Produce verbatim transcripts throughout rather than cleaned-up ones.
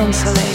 de soleil.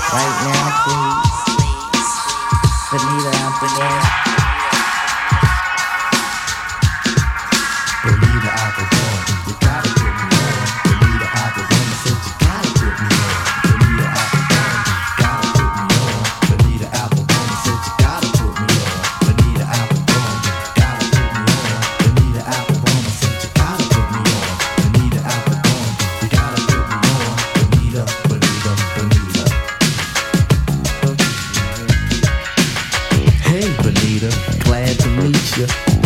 Right now, please. Benita Applebaum. Benita Applebaum, you gotta put me on. Benita Applebaum, I said you gotta put me on. Benita Applebaum, gotta put me on. Benita Applebaum, I said you gotta put me on. Benita Applebaum, gotta put me on. Benita Applebaum, I said you gotta put me on. Benita Applebaum, you gotta put me on. Benita, Benita, Benita. Hey Benita, glad to meet you.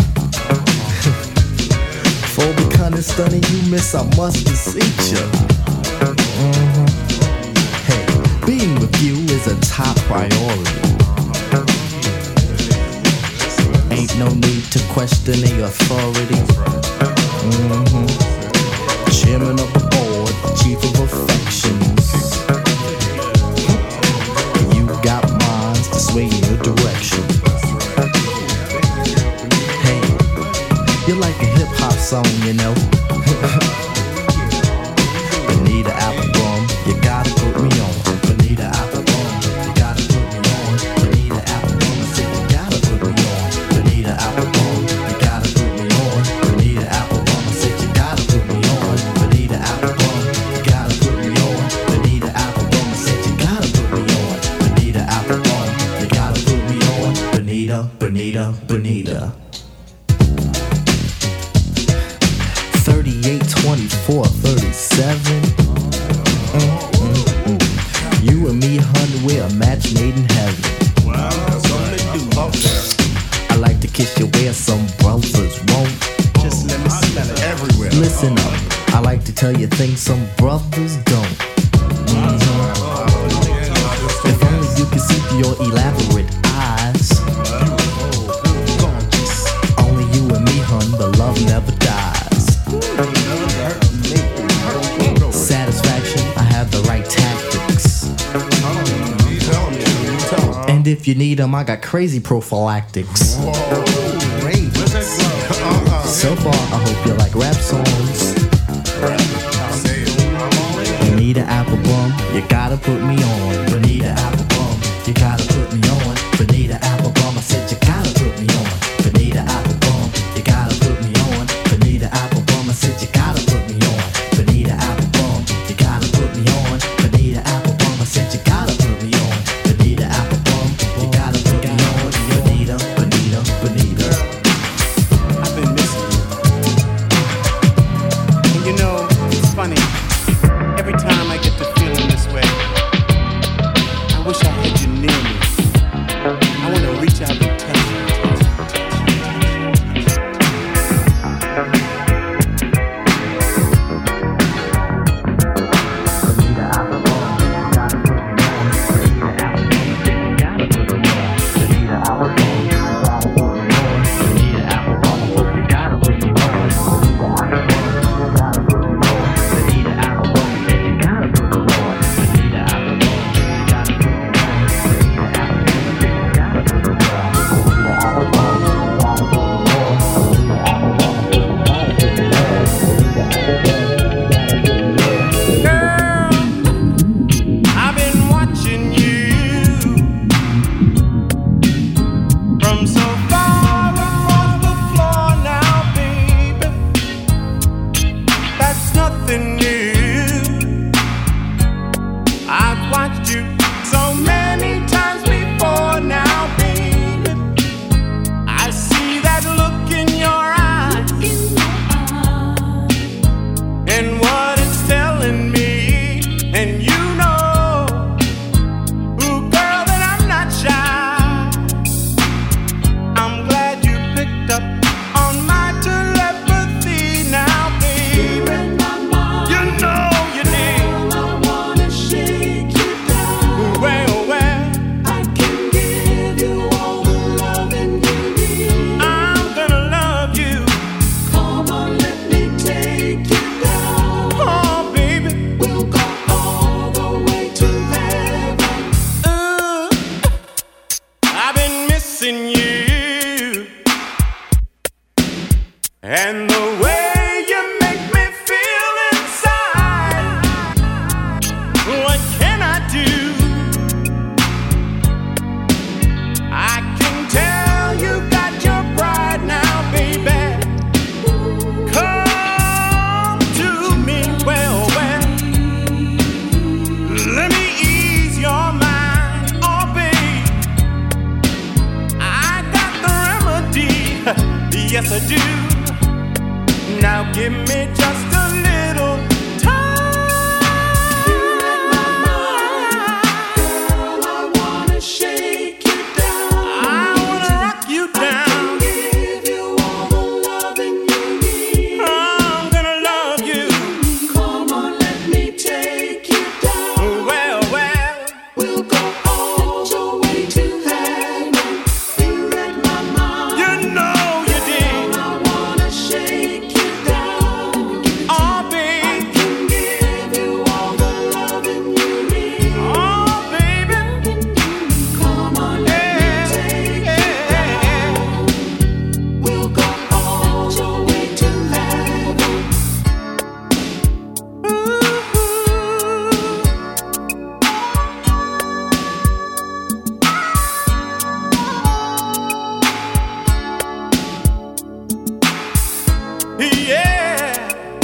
For becoming stunning, you miss, I must beseech you. Mm-hmm. Hey, being with you is a top priority. Ain't no need to question the authority. Mm-hmm. Chairman of the board, chief of affections. You got minds to sway in your direction. Hey, you're like a hip-hop song, you know. Benita Applebaum, you gotta put me on. Benita Applebaum, you gotta put me on. Benita Applebaum, I said you gotta put me on. Benita Applebaum, you gotta put me on. Benita Applebaum, I said you gotta put me on. Benita Applebaum, you gotta put me on. Benita Applebaum, I said you gotta put me on. Benita Applebaum, you gotta put me on. Benita, Benita, Benita. thirty-eight, twenty-four, thirty-seven. Mm, mm, mm. You and me, hun, we're a match made in heaven. Wow, that's something to do up there. I like to kiss you where some brothers won't. Just let me smell it everywhere. Listen up, I like to tell you things some brothers don't. Mm-hmm. If only you could see through your elaborate eyes. Only you and me, hun, the love never dies. Satisfaction, I have the right tactics. And if you need them, I got crazy prophylactics. So far, I hope you like rap songs. Benita Applebaum, you gotta put me on. Benita Applebaum, you gotta put me on. Benita Applebaum, I said you gotta put me on. Benita Applebaum, you gotta put me on. Benita Applebaum, I said you gotta put me on. Benita Applebaum, you gotta put me on. Benita Applebaum, I said you gotta put me on. Benita Applebaum, you gotta put me on. Benita, Benita, Benita. I've been missing you. And you know, it's funny. Every time I get to feeling this way, I wish I had you near me. I want to reach out and touch you. Yes, I do. Now give me just a little time. You're in my mind. Girl, I wanna shake you down. I wanna rock you down. I can give you all the loving you need. I'm gonna love you. Come on, let me take you down. Well, well, we'll go all the way to heaven. You read my mind. You know you did. Girl, I wanna shake you down. Oh, babe. I can give you all the loving you need. Oh, baby. Come on, let me take you down. We'll go all the way to heaven. Yeah.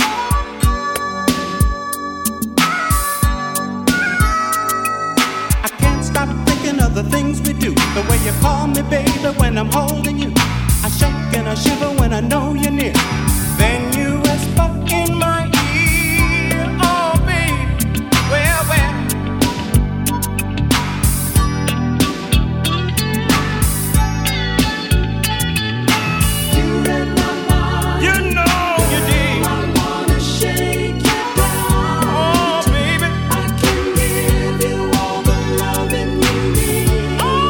I can't stop thinking of the things we do. The way you call me, baby, when I'm holding you. I shake and I shiver when I know you're near. Then you whisper in my ear. Oh, babe, well, well. You read my mind. You know you did. I wanna shake you down. Oh, baby. I can give you all the loving you need. Oh,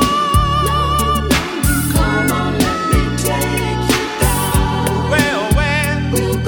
come on, let me take you down. Well, well. We'll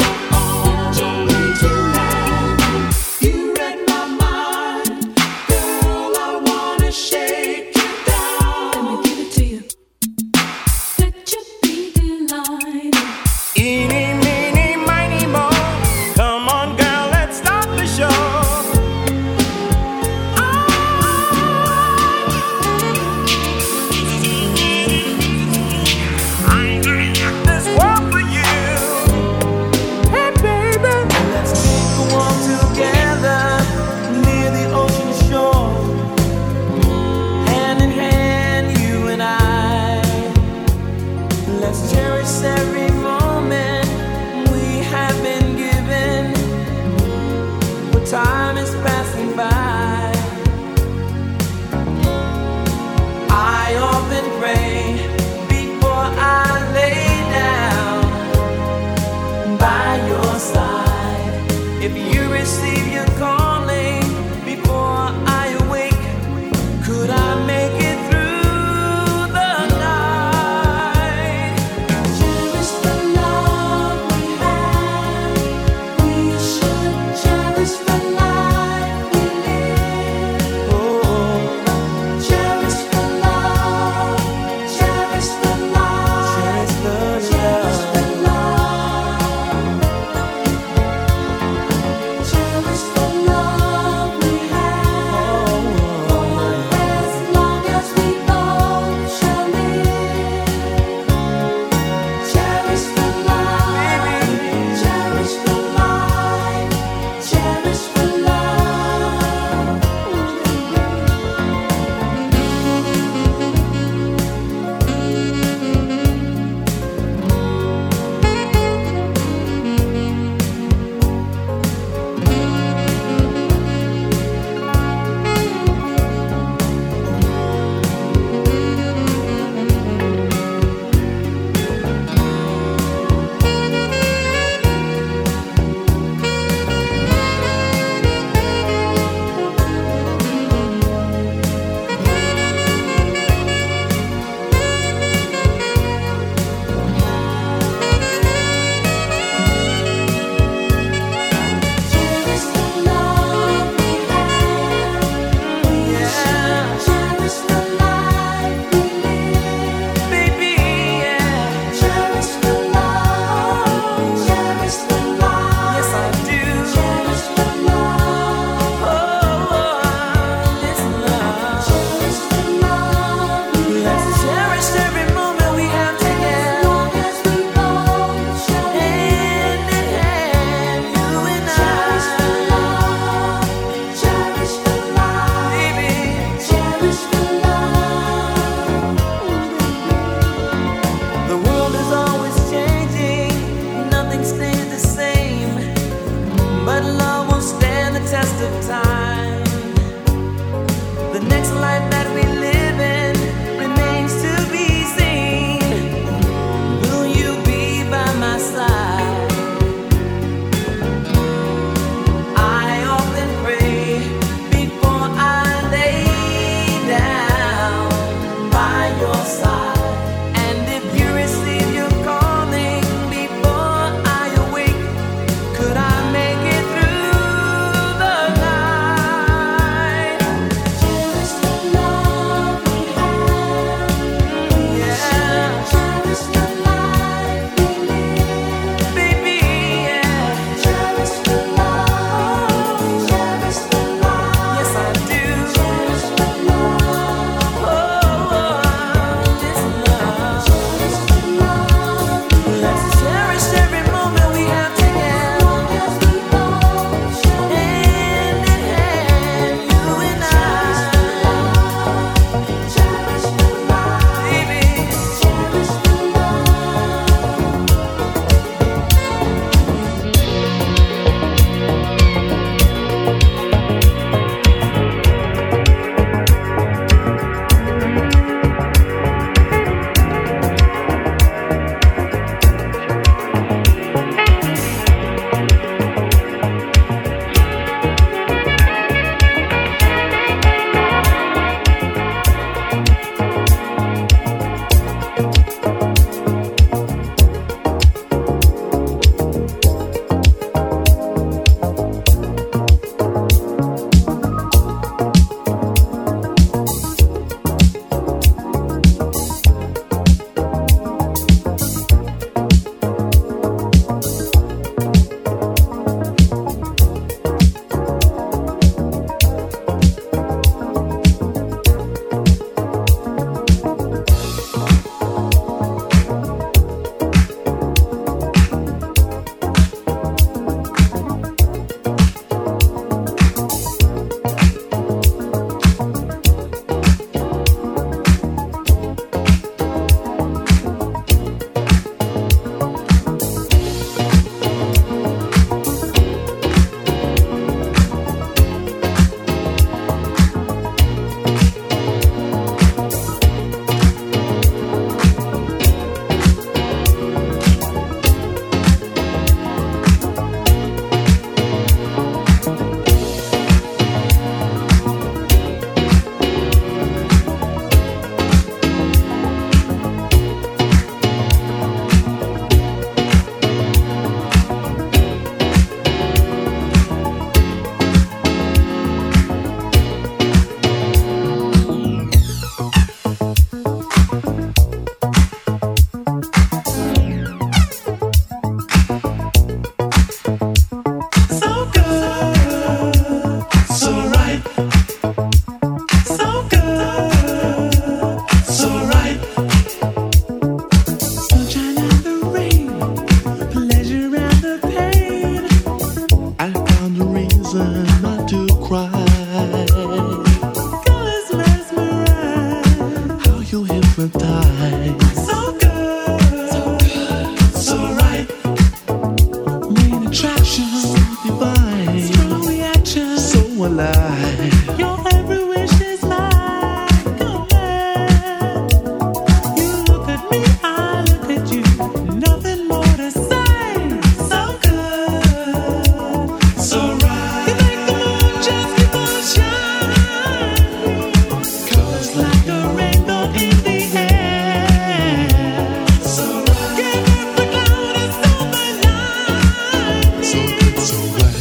hypnotized. So good, so good, so right. Main attraction, divine. Strong reaction, so alive. Your every wish is mine. Come on. You look at me, I look at you. Nothing more to say. So good, so right. You make the moon just keep on shining. Colors like a rainbow in the air. So right. Give up the cloud and silver lining. So good, so right.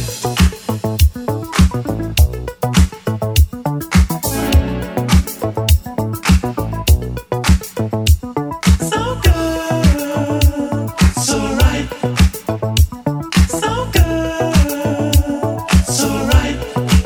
So good, so right. So good, so right.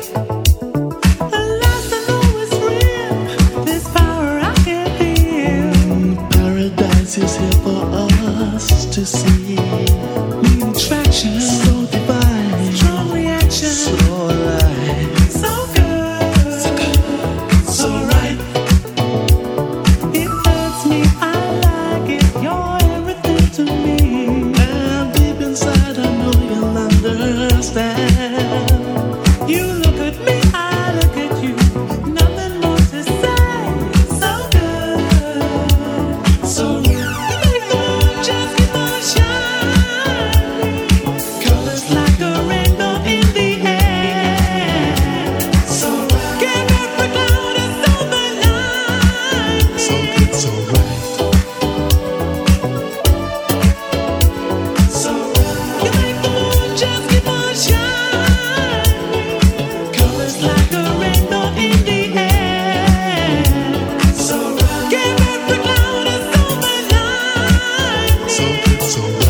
Alas, I know it's real. This power I can feel. Paradise is here for us to see. New attraction, so divine. Strong reaction, so alive. So good, so good, so right. It hurts me, I like it. You're everything to me. And deep inside, I know you'll understand. You look at me, I look at you. Nothing more to say. So good, so right. You make the moon just keep on shining. Colors like a rainbow in the air. So right. Give every cloud a silver lining. So good, so right. So right. You make the moon just keep on shining. Colors like a rainbow in the air. So right. Give every cloud a silver lining. So good, so right.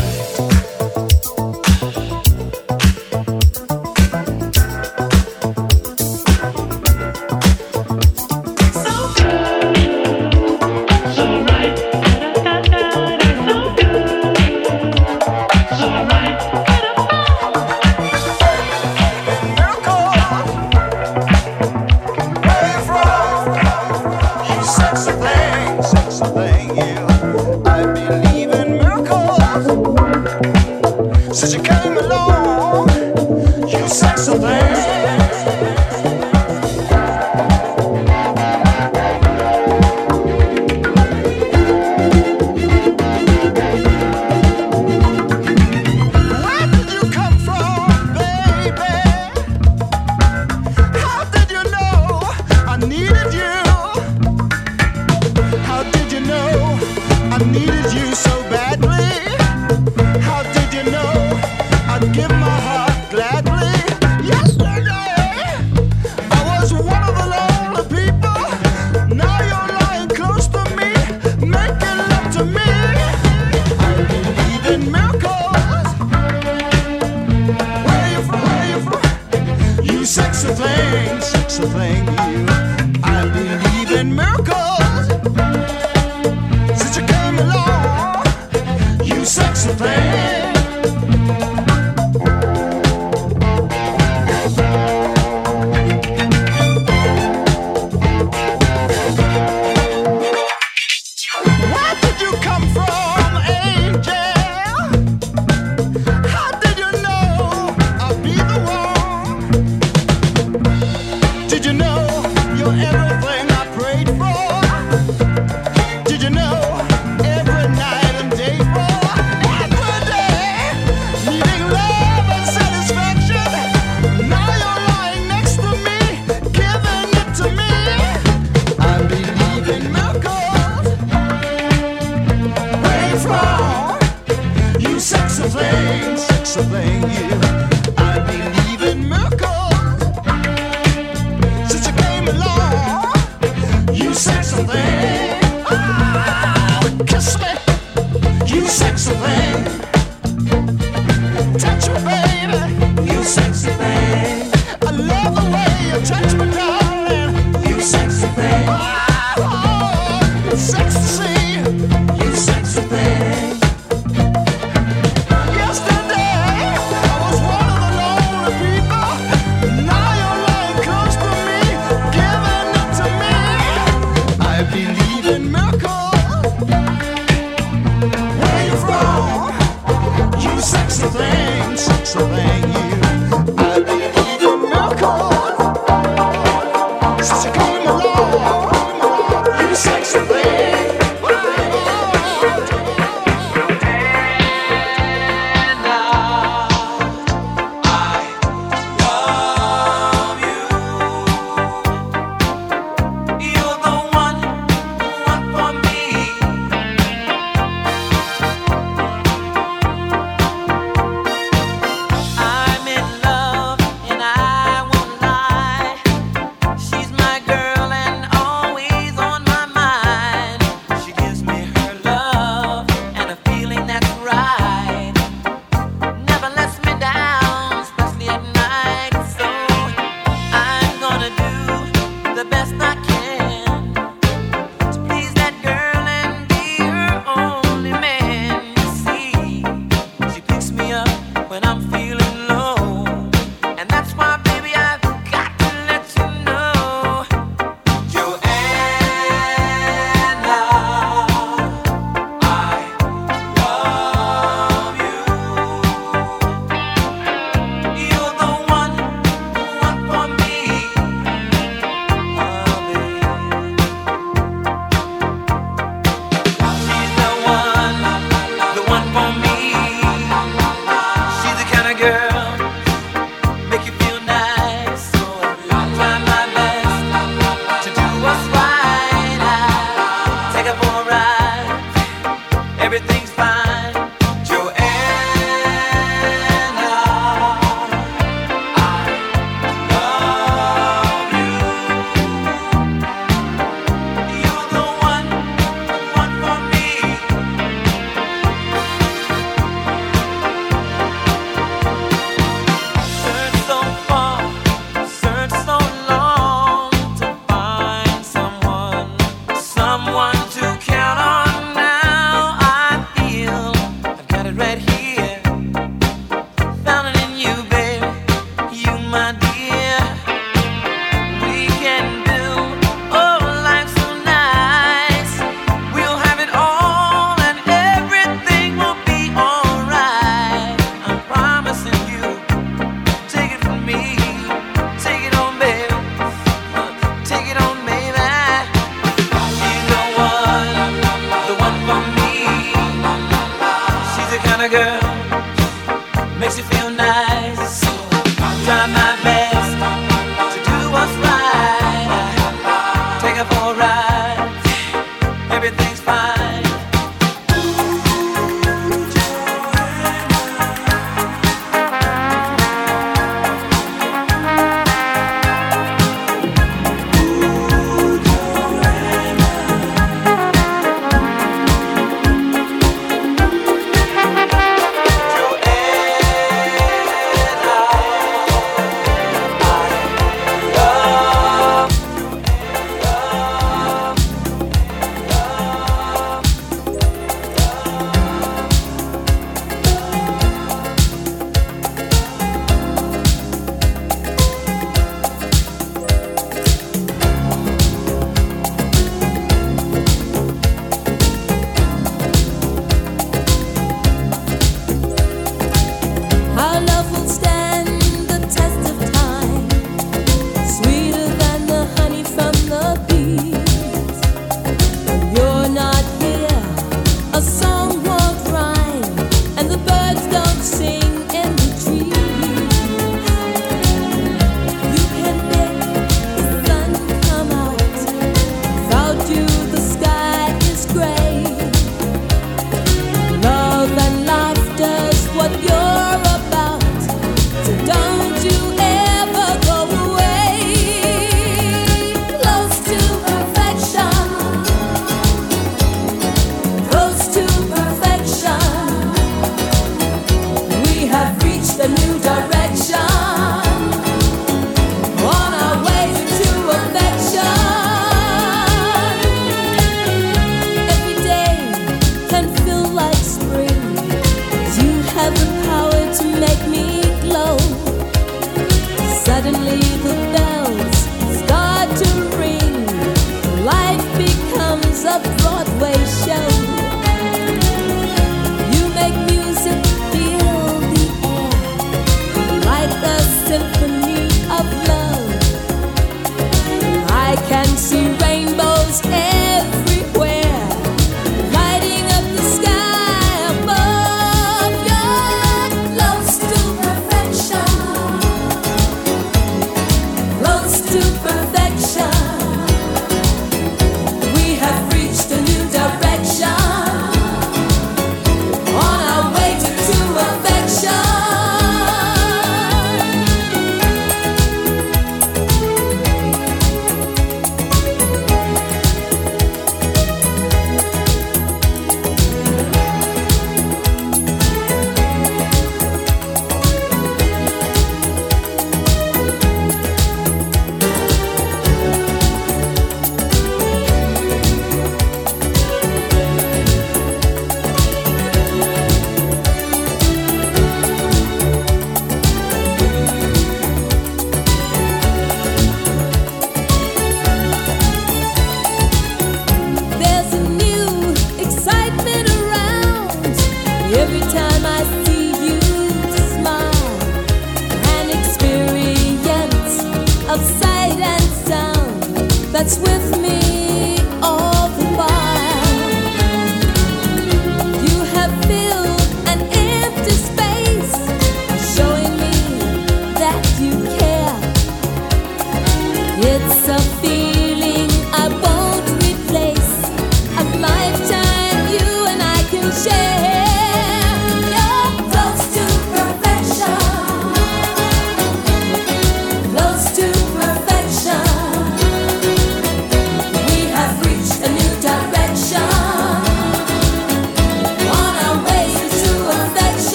So good, so right. So good, so right. You sexy thing, sexy thing, you. I believe in miracles. Since you came along, you sexy thing. Where did you come from, baby? How did you know I needed you? How did you know I needed you so badly? How did you know I'd give my heart gladly? Yesterday, I was one of the lonely people. Now you're lying close to me, making love to me. I believe in miracles. Where you from? Where you from? You sexy thing, sexy thing, you. I believe in miracles. Since you came along, you sexy thing. Where did you come from, angel? How did you know I'd be the one? Did you know you're everything I prayed for? Did you know every night and day for? Every day, needing love and satisfaction. Now you're lying next to me, giving it to me. I believe in miracles. Where you from? You sexy thing, sexy thing, you. I believe in miracles. Since you came along, you sexy thing. Ah, kiss me, you sexy thing. Touch me, baby, you sexy thing. I love the way you touch me, darling. You sexy thing. Oh, sexy to see you sexy thing. Yesterday, I was one of the lonely people. Now you're lying close to me, giving it to me. I believe in miracles. sexy thing, sexy thing, you. I believe in miracles. Since you came along, you sexy thing. I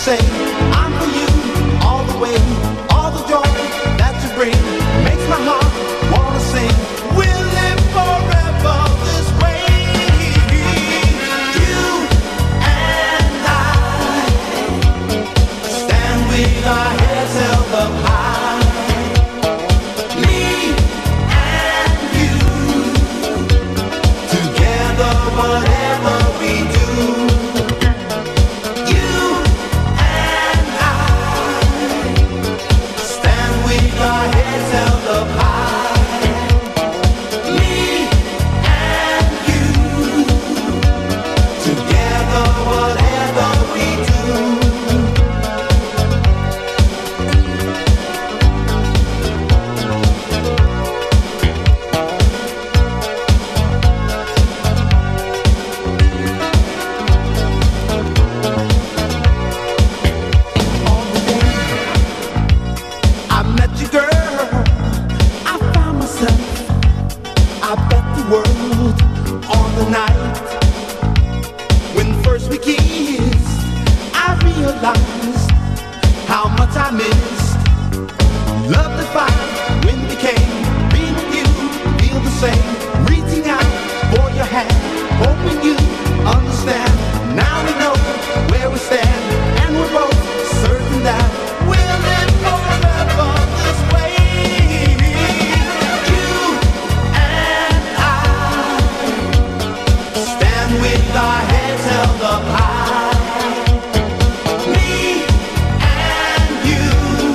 say I'm for you all the way. All the joy that you bring makes my heart wanna sing. We'll live forever this way. You and I stand with our heads held up high. Me and you together, whatever we do. You and I stand with our heads held up high. Me and you together, whatever we do. I met you, girl. I found myself. I bet the world on the night when first we kissed. I realized how much I missed. Love defined when we came. Being with you, feel the same. Reaching out for your hand, hoping you understand. Now we know where we stand, and we're both certain that we'll live forever this way. You and I stand with our heads held up high. Me and you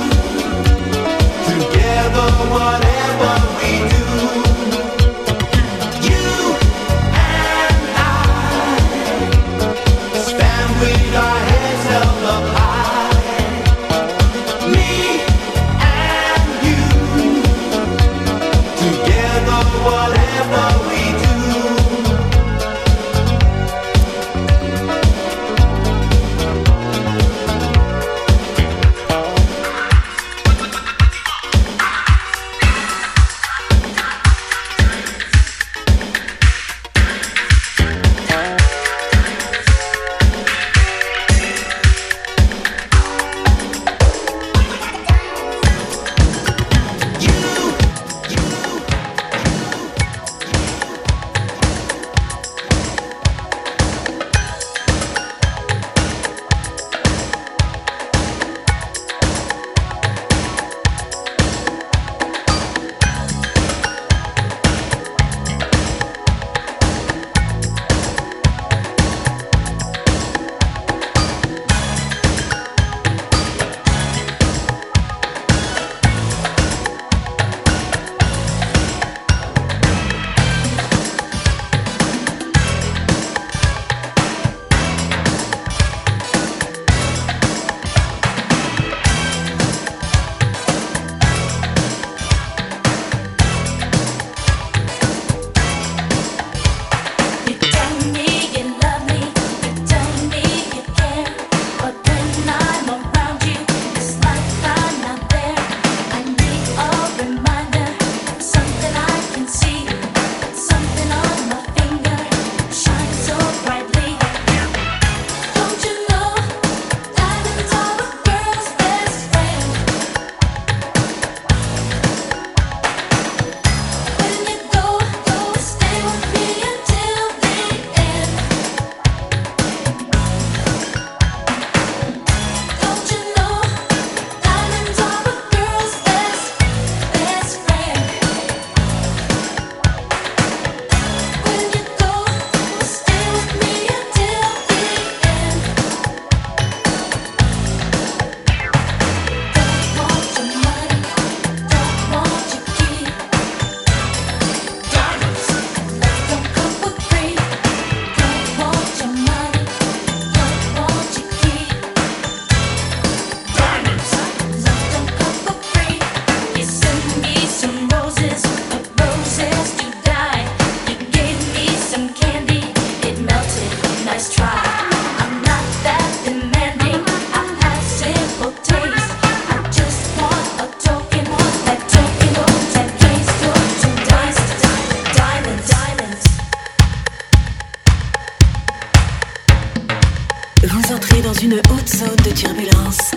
zone de turbulence.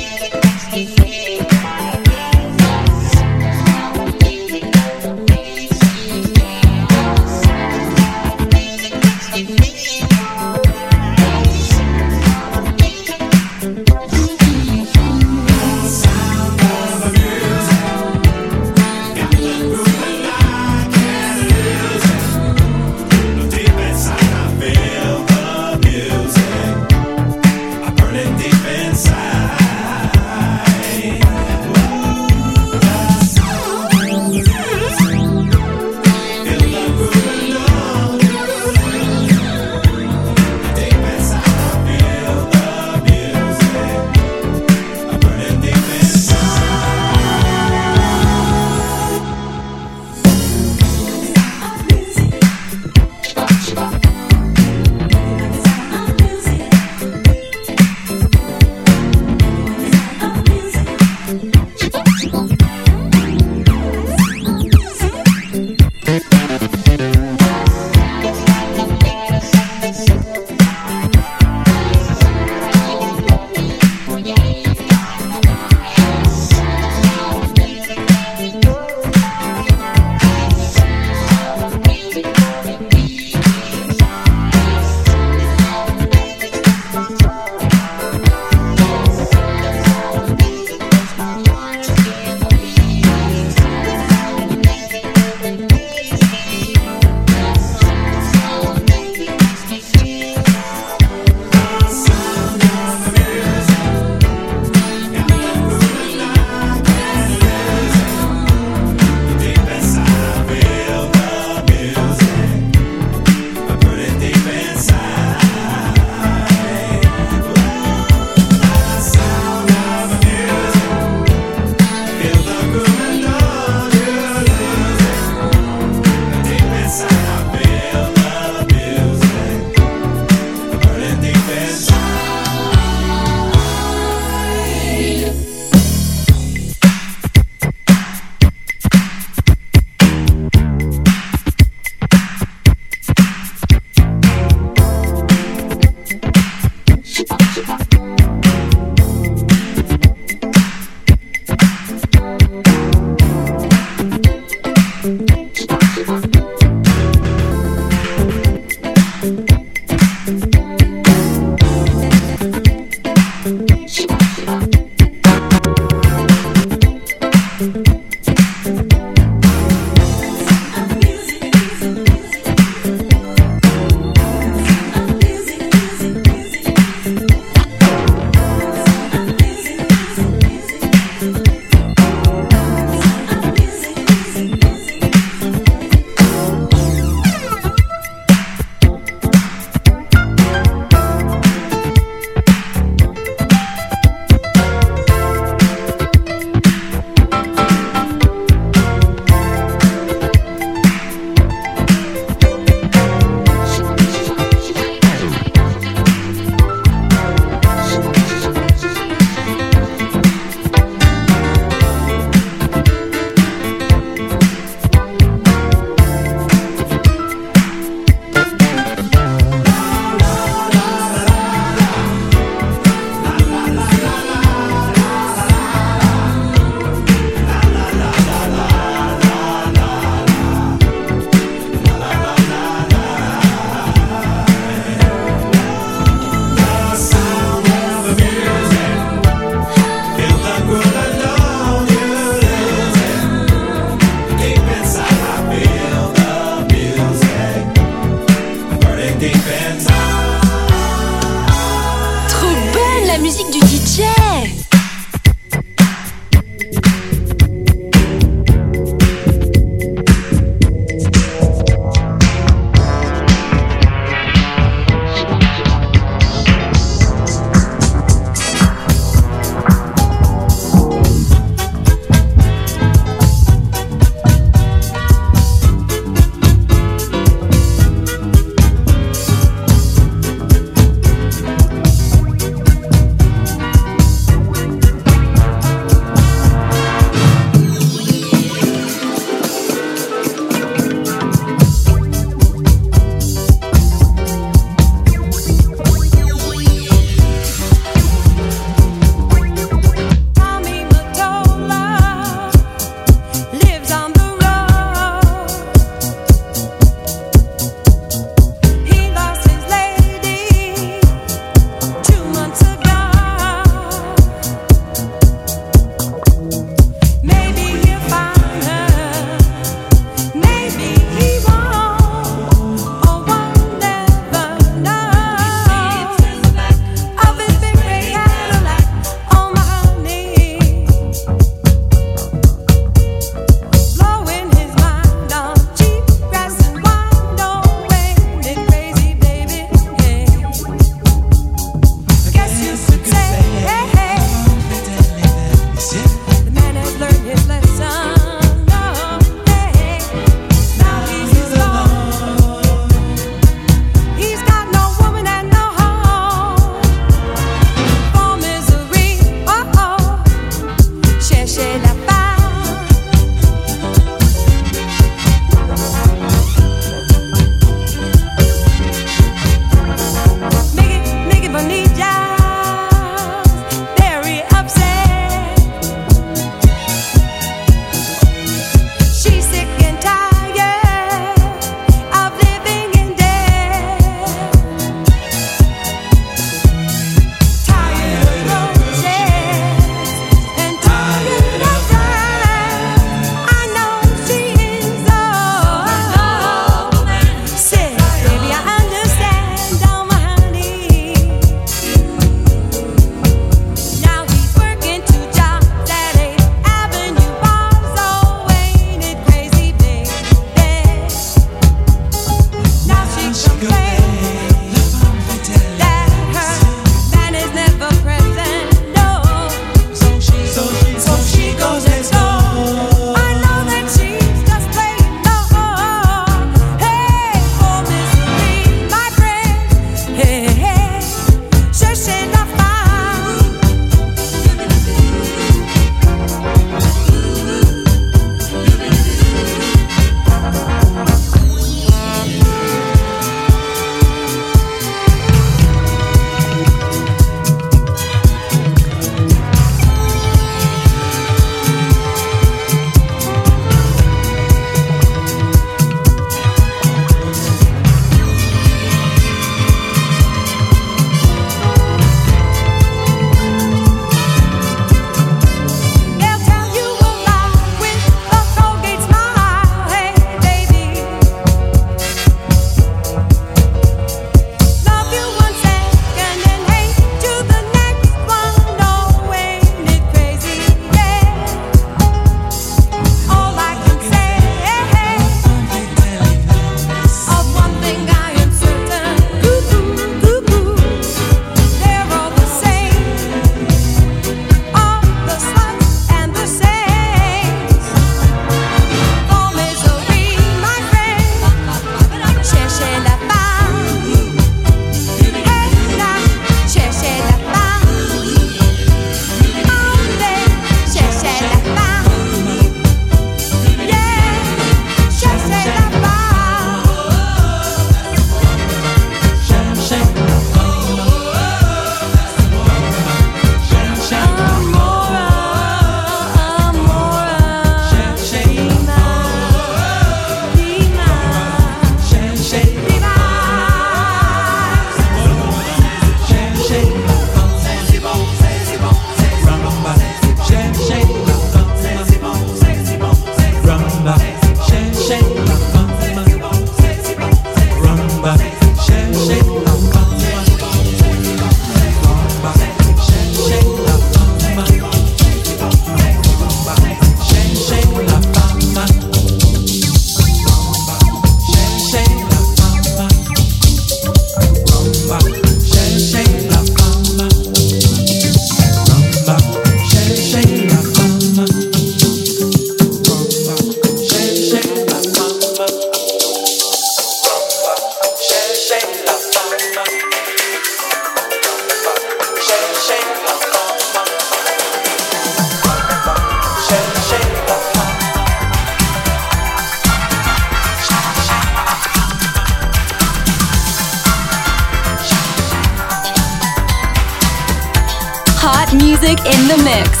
music in the mix.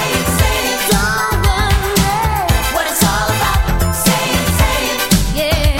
Yeah.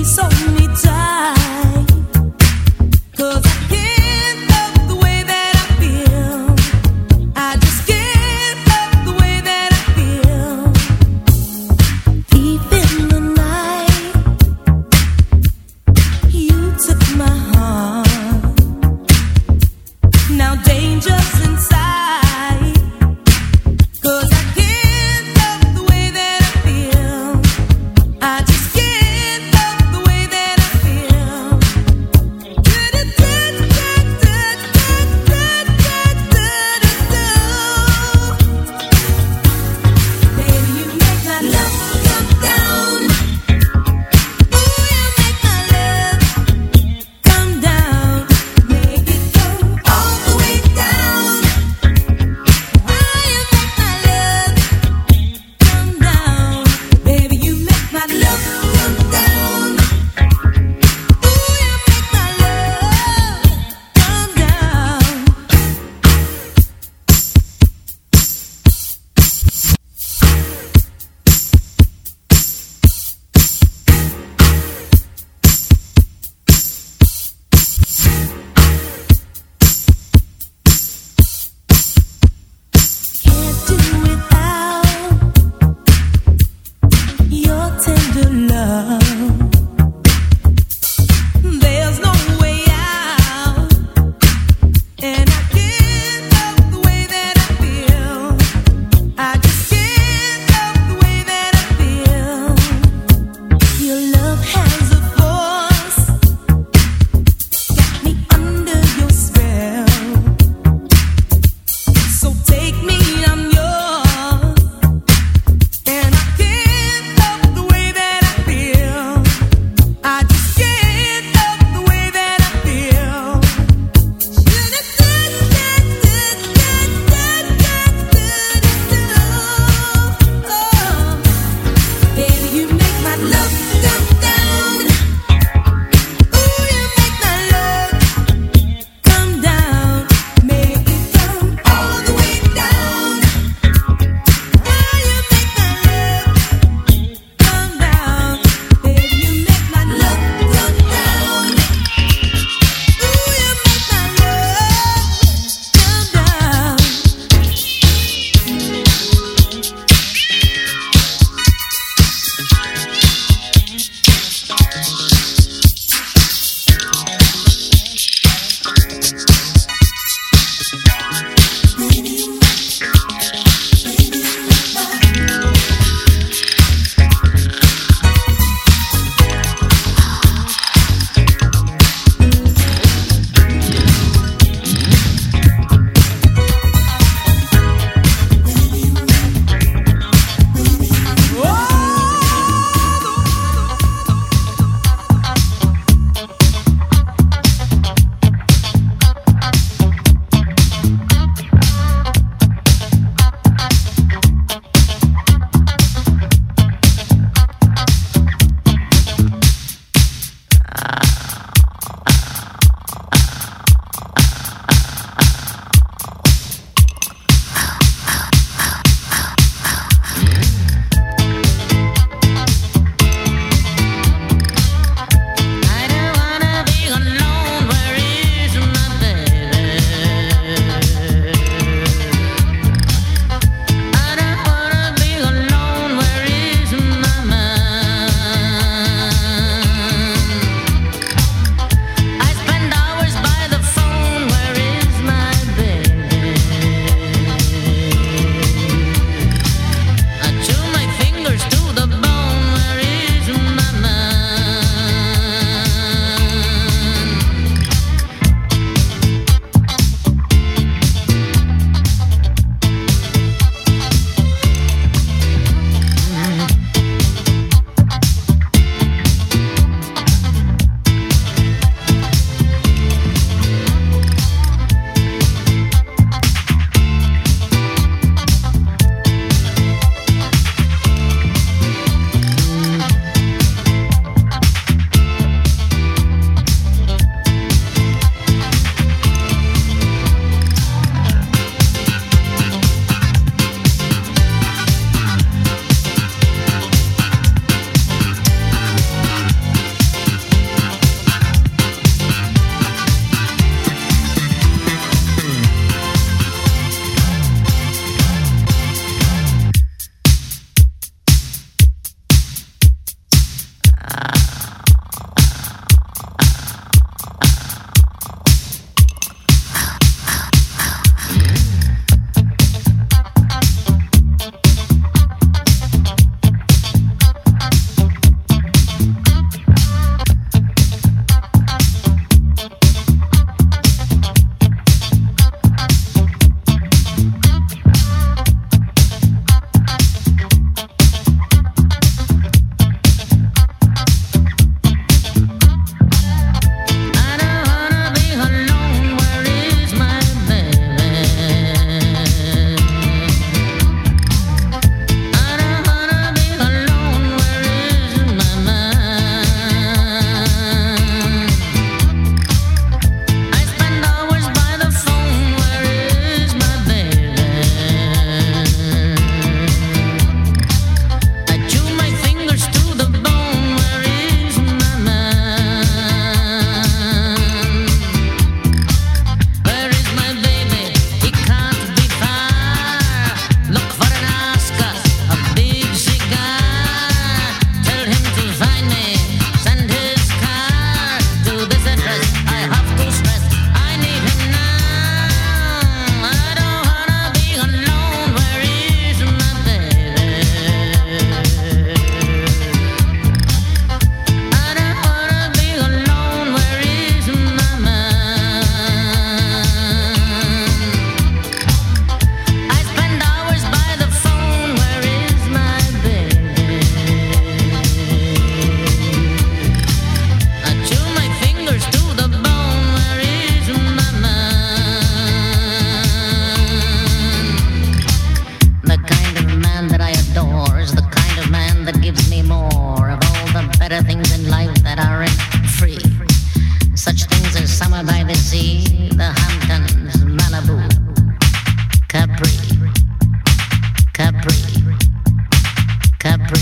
I just can't love the way that in life that aren't free. Such things as summer by the sea, the Hamptons, Malibu, Capri, Capri, Capri.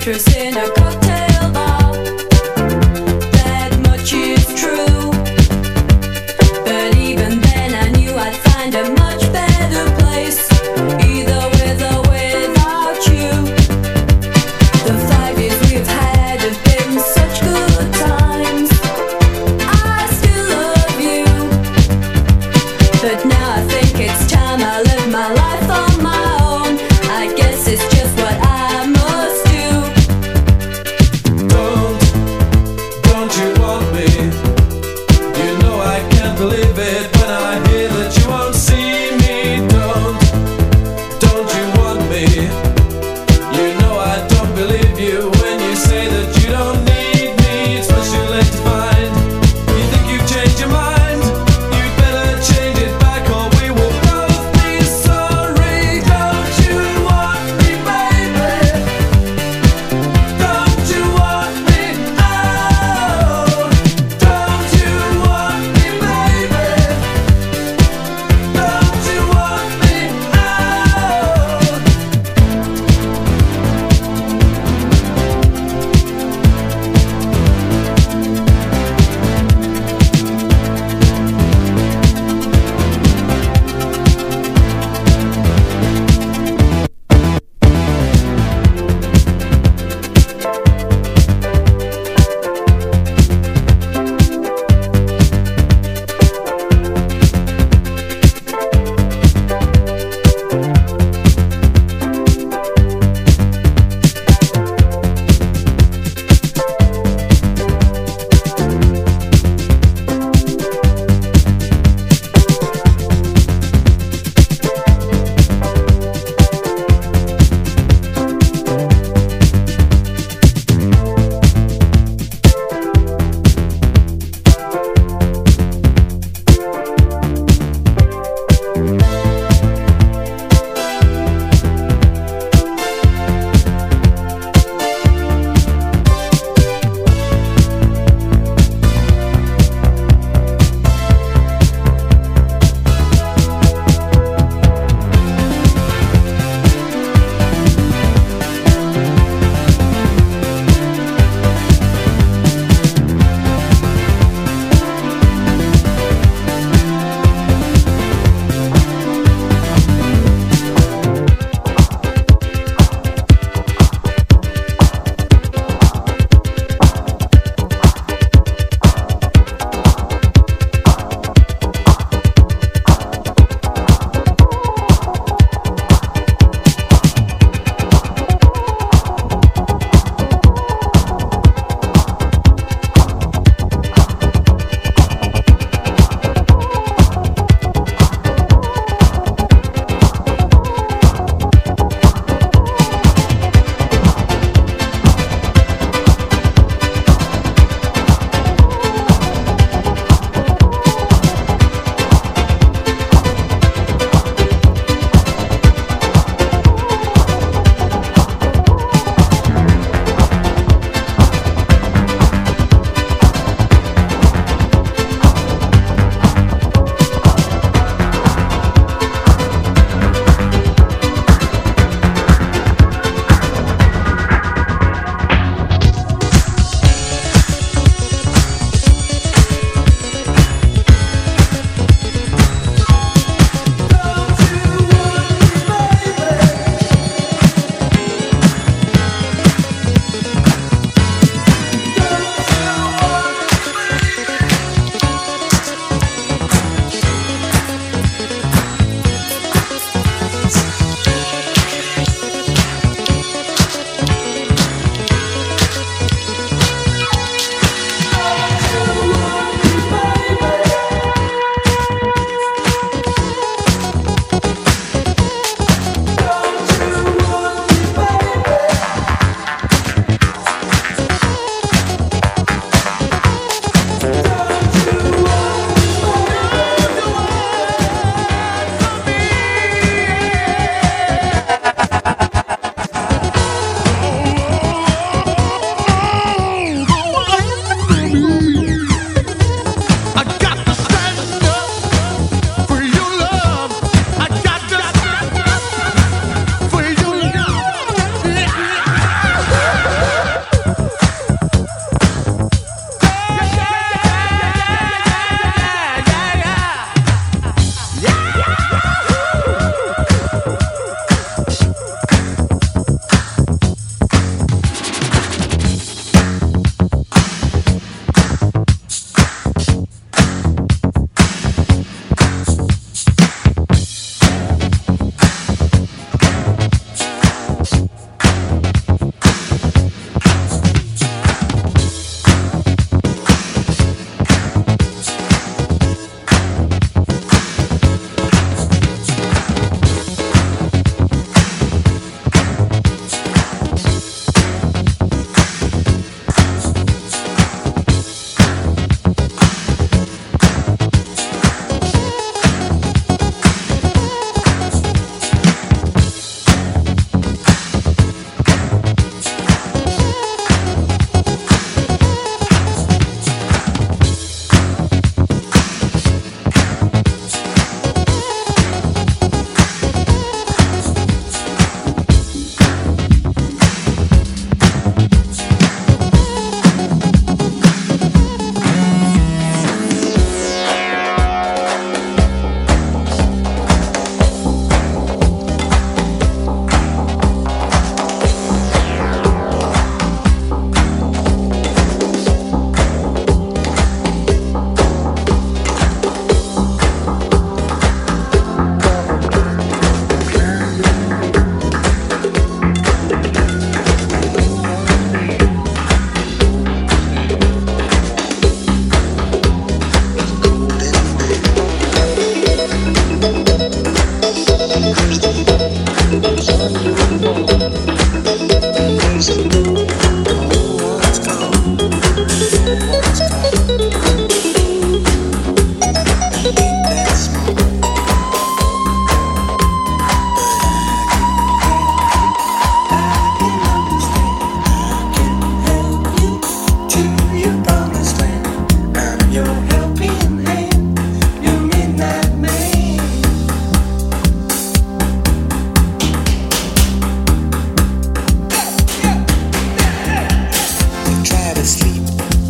waitress in a cocktail bar. That much is true. But even then I knew I'd find a much better place, either with or without you. The five years we've had have been such good times. I still love you, but now I think it's time I live my life on my own. I guess it's just what I must do. Don't, don't you want me? You know I can't believe it when I hear that you won't see me. Don't, don't you want me? You know I don't believe you when you say that you don't need me. It's much too late to find. You think you've changed your mind? You'd better change it back or we will both be sorry. Don't you want me, baby? Don't you want me? Oh, don't you want me, baby? Don't you want me? Oh.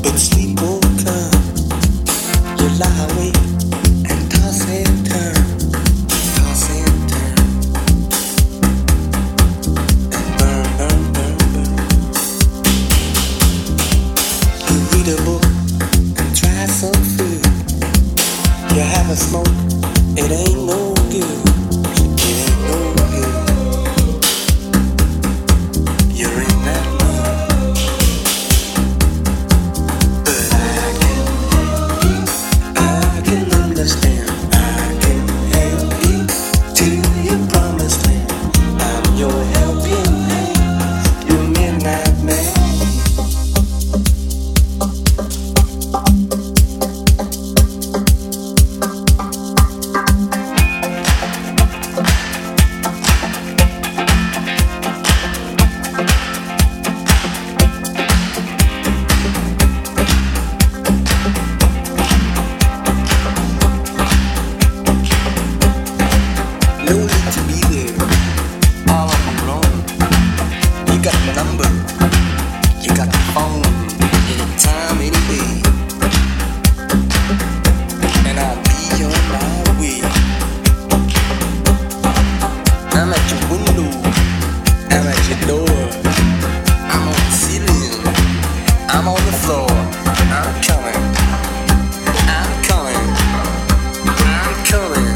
but sleep won't come. You lie awake and toss and turn, toss and turn, and burn, burn, burn, burn. You read a book and try some food. You have a smoke, it ain't no good. It ain't no good. You're in that mood, but I can, I can understand. I can help you to your promised land. I'm your helping hand, your midnight man. No need to be there, all on your own. You got the number, you got the phone, anytime, any day. And I'll be on my way. I'm at your window, I'm at your door. I'm on the ceiling, I'm on the floor. I'm coming, I'm coming, I'm coming.